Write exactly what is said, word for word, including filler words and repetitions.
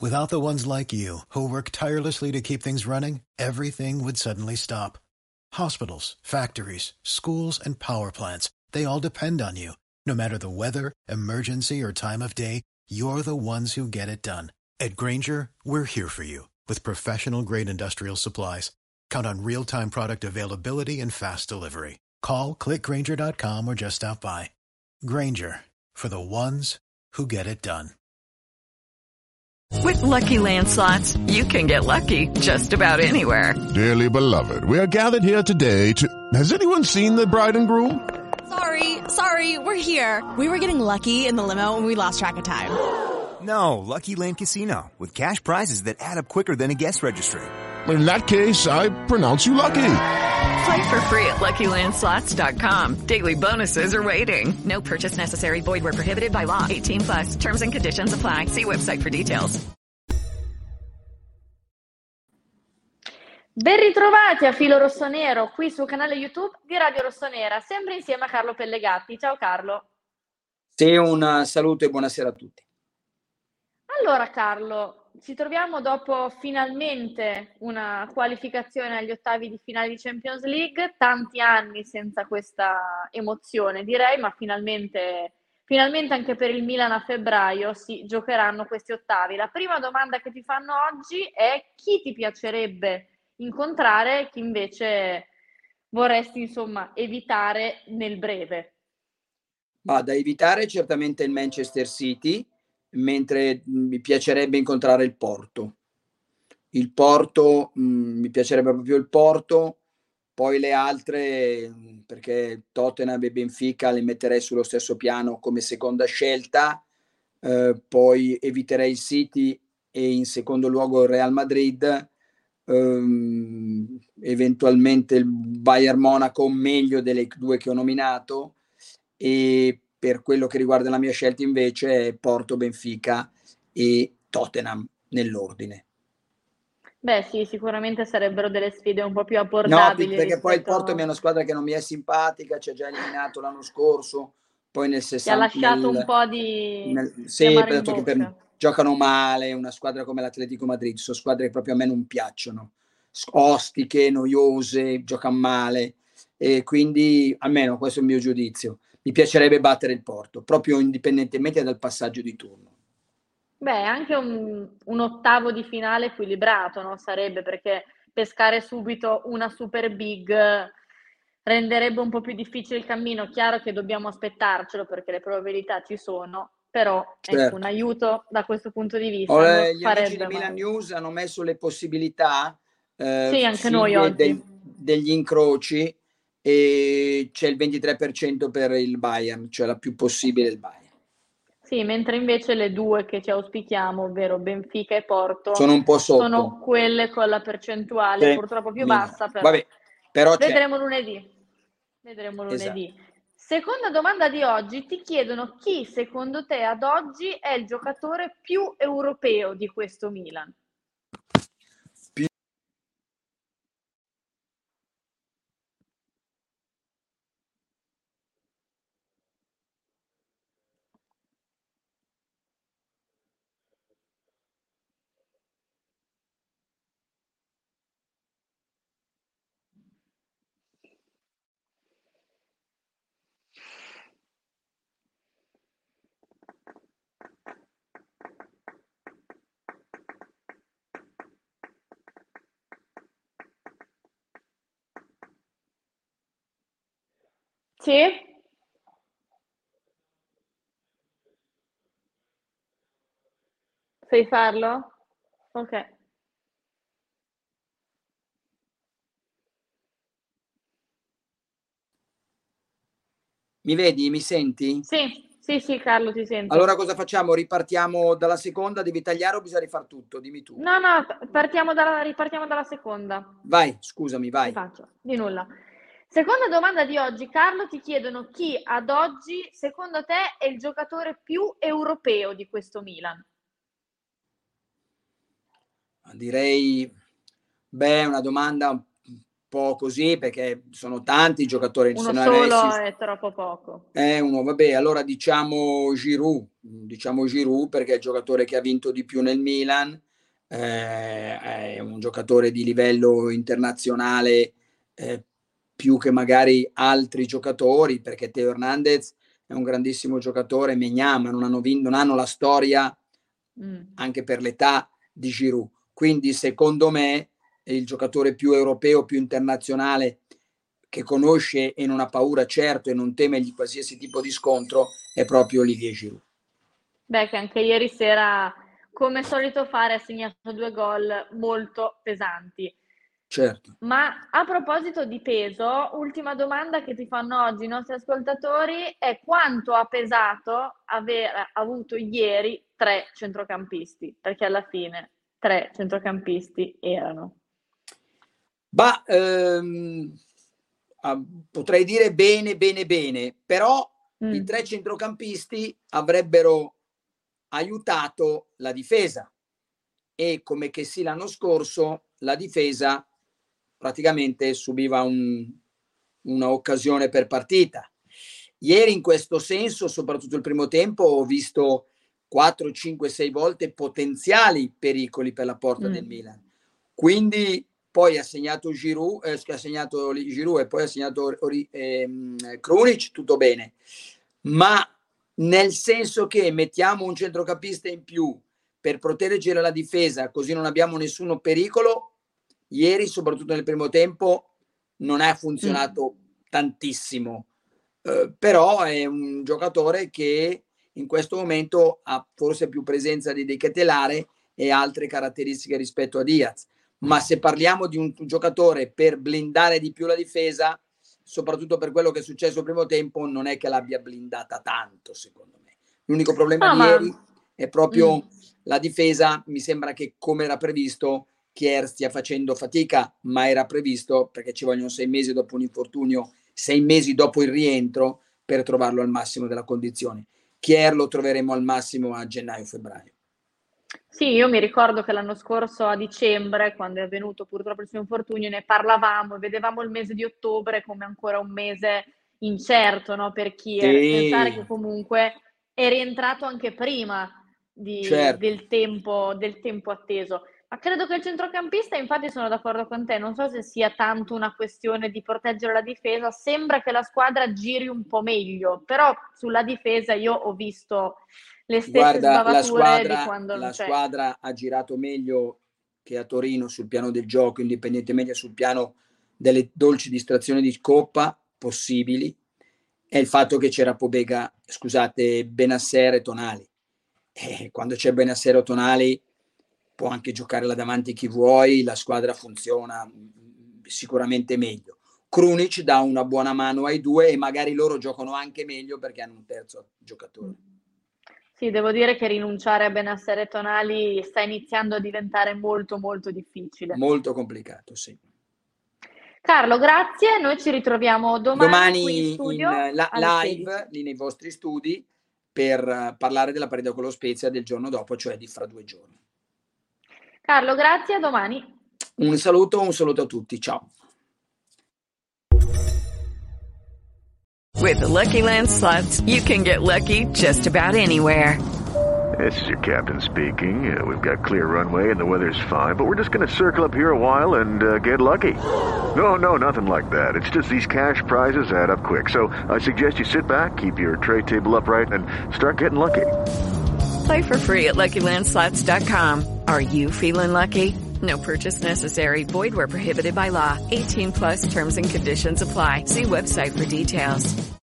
Without the ones like you, who work tirelessly to keep things running, everything would suddenly stop. Hospitals, factories, schools, and power plants, they all depend on you. No matter the weather, emergency, or time of day, you're the ones who get it done. At Grainger, we're here for you with professional-grade industrial supplies. Count on real-time product availability and fast delivery. Call, click grainger dot com, or just stop by. Grainger, for the ones who get it done. With Lucky Land Slots, you can get lucky just about anywhere. Dearly beloved, we are gathered here today to... Has anyone seen the bride and groom? Sorry, sorry, we're here. We were getting lucky in the limo and we lost track of time. No, Lucky Land Casino, with cash prizes that add up quicker than a guest registry. In that case, I pronounce you lucky. Play for free at lucky land slots dot com. Daily bonuses are waiting. No purchase necessary. Void where prohibited by law. eighteen plus. Terms and conditions apply. See website for details. Ben ritrovati a Filo Rossonero qui sul canale YouTube di Radio Rossonera, sempre insieme a Carlo Pellegatti. Ciao Carlo. Sì, un saluto e buonasera a tutti. Allora Carlo, ci troviamo dopo finalmente una qualificazione agli ottavi di finale di Champions League, tanti anni senza questa emozione direi, ma finalmente, finalmente anche per il Milan a febbraio si giocheranno questi ottavi. La prima domanda che ti fanno oggi è: chi ti piacerebbe incontrare e chi invece vorresti insomma evitare nel breve? Ma da evitare certamente il Manchester City, mentre mi piacerebbe incontrare il Porto. Il Porto, mh, mi piacerebbe proprio il Porto, poi le altre, perché Tottenham e Benfica le metterei sullo stesso piano come seconda scelta, eh, poi eviterei il City e in secondo luogo il Real Madrid, ehm, eventualmente il Bayern Monaco, meglio delle due che ho nominato, e per quello che riguarda la mia scelta invece è Porto, Benfica e Tottenham nell'ordine. Beh sì, sicuramente sarebbero delle sfide un po' più abbordabili. No, perché poi il rispetto... Porto è una squadra che non mi è simpatica, ci ha già eliminato l'anno scorso, poi nel sessanta... Ti ha lasciato nel, un po' di... nel, di sì, amaro in detto che per, giocano male, una squadra come l'Atletico Madrid, sono squadre che proprio a me non piacciono, ostiche, noiose, giocano male, e quindi almeno questo è il mio giudizio. Mi piacerebbe battere il Porto, proprio indipendentemente dal passaggio di turno. Beh, anche un, un ottavo di finale equilibrato, no? Sarebbe, perché pescare subito una super big renderebbe un po' più difficile il cammino. Chiaro che dobbiamo aspettarcelo perché le probabilità ci sono, però certo. Ecco, un aiuto da questo punto di vista oh, non gli amici di farebbe Milan male. News hanno messo le possibilità, eh, Sì, anche sì, noi de- oggi. del- degli incroci, e c'è il ventitré per cento per il Bayern, cioè la più possibile il Bayern. Sì, mentre invece le due che ci auspichiamo, ovvero Benfica e Porto, sono un po' sotto. Sono quelle con la percentuale sì, purtroppo più Milan. bassa, però, Vabbè, però vedremo lunedì. Vedremo lunedì. Esatto. Seconda domanda di oggi, ti chiedono chi secondo te ad oggi è il giocatore più europeo di questo Milan? Più... Sì? Sai farlo? Ok. Mi vedi? Mi senti? Sì, sì, sì, Carlo, ti sento. Allora cosa facciamo? Ripartiamo dalla seconda? Devi tagliare o bisogna rifar tutto? Dimmi tu. No, no, partiamo dalla, ripartiamo dalla seconda. Vai, scusami, vai. Ti faccio, di nulla. Seconda domanda di oggi, Carlo, ti chiedono chi ad oggi, secondo te, è il giocatore più europeo di questo Milan? Direi, beh, una domanda po' così, perché sono tanti giocatori. Uno solo Messi, è troppo poco. Eh, uno, vabbè, allora diciamo Giroud, diciamo Giroud perché è il giocatore che ha vinto di più nel Milan, eh, è un giocatore di livello internazionale, eh, più che magari altri giocatori, perché Teo Hernandez è un grandissimo giocatore, Maignan, ma non hanno, vinto, non hanno la storia mm. anche per l'età di Giroud. Quindi secondo me è il giocatore più europeo, più internazionale, che conosce e non ha paura certo e non teme di qualsiasi tipo di scontro, è proprio Olivier Giroud. Beh, che anche ieri sera, come solito fare, ha segnato due gol molto pesanti. Certo. Ma a proposito di peso, ultima domanda che ti fanno oggi i nostri ascoltatori è: quanto ha pesato aver avuto ieri tre centrocampisti? Perché alla fine tre centrocampisti erano. Bah, ehm, ah, potrei dire bene, bene, bene, però mm. i tre centrocampisti avrebbero aiutato la difesa e, come che sì l'anno scorso, la difesa praticamente subiva un, una occasione per partita. Ieri in questo senso, soprattutto il primo tempo, ho visto quattro, cinque, sei volte potenziali pericoli per la porta mm. del Milan. Quindi poi ha segnato Giroud, eh, ha segnato Giroud e poi ha segnato eh, Krunic, tutto bene. Ma nel senso che mettiamo un centrocampista in più per proteggere la difesa, così non abbiamo nessuno pericolo, ieri, soprattutto nel primo tempo, non ha funzionato mm. tantissimo. Uh, però è un giocatore che in questo momento ha forse più presenza di De Ketelaere e altre caratteristiche rispetto a Diaz. Ma se parliamo di un giocatore per blindare di più la difesa, soprattutto per quello che è successo il primo tempo, non è che l'abbia blindata tanto, secondo me. L'unico problema no, di ma... ieri è proprio mm. la difesa. Mi sembra che, come era previsto, Kjaer stia facendo fatica, ma era previsto perché ci vogliono sei mesi dopo un infortunio, sei mesi dopo il rientro per trovarlo al massimo della condizione. Kjaer lo troveremo al massimo a gennaio-febbraio. Sì, io mi ricordo che l'anno scorso a dicembre, quando è avvenuto purtroppo il suo infortunio, ne parlavamo e vedevamo il mese di ottobre come ancora un mese incerto, no, per Kjaer. Sì. Pensare che comunque è rientrato anche prima di, certo. del, tempo, del tempo atteso. Ma credo che il centrocampista, infatti sono d'accordo con te, non so se sia tanto una questione di proteggere la difesa, sembra che la squadra giri un po' meglio, però sulla difesa io ho visto le stesse Guarda, sbavature la squadra, di quando non la c'è. squadra ha girato meglio che a Torino sul piano del gioco, indipendentemente sul piano delle dolci distrazioni di Coppa possibili, è il fatto che c'era Pobega, scusate, Bennacer e Tonali. E quando c'è Bennacer o Tonali può anche giocare là davanti chi vuoi, la squadra funziona sicuramente meglio. Krunic dà una buona mano ai due e magari loro giocano anche meglio perché hanno un terzo giocatore. Sì, devo dire che rinunciare a Bennacer e Tonali sta iniziando a diventare molto molto difficile. Molto complicato, sì. Carlo, grazie. Noi ci ritroviamo domani, domani qui in studio in la, live lì nei vostri studi per uh, parlare della partita con lo Spezia del giorno dopo, cioè di fra due giorni. Carlo, grazie, a domani. Un saluto, un saluto a tutti, ciao. With the Lucky Land Slots, you can get lucky just about anywhere. This is your captain speaking. Uh, we've got clear runway and the weather's fine, but we're just going to circle up here a while and uh, get lucky. No, no, nothing like that. It's just these cash prizes add up quick. So I suggest you sit back, keep your tray table upright, and start getting lucky. Play for free at Lucky Land Slots dot com. Are you feeling lucky? No purchase necessary. Void where prohibited by law. eighteen plus terms and conditions apply. See website for details.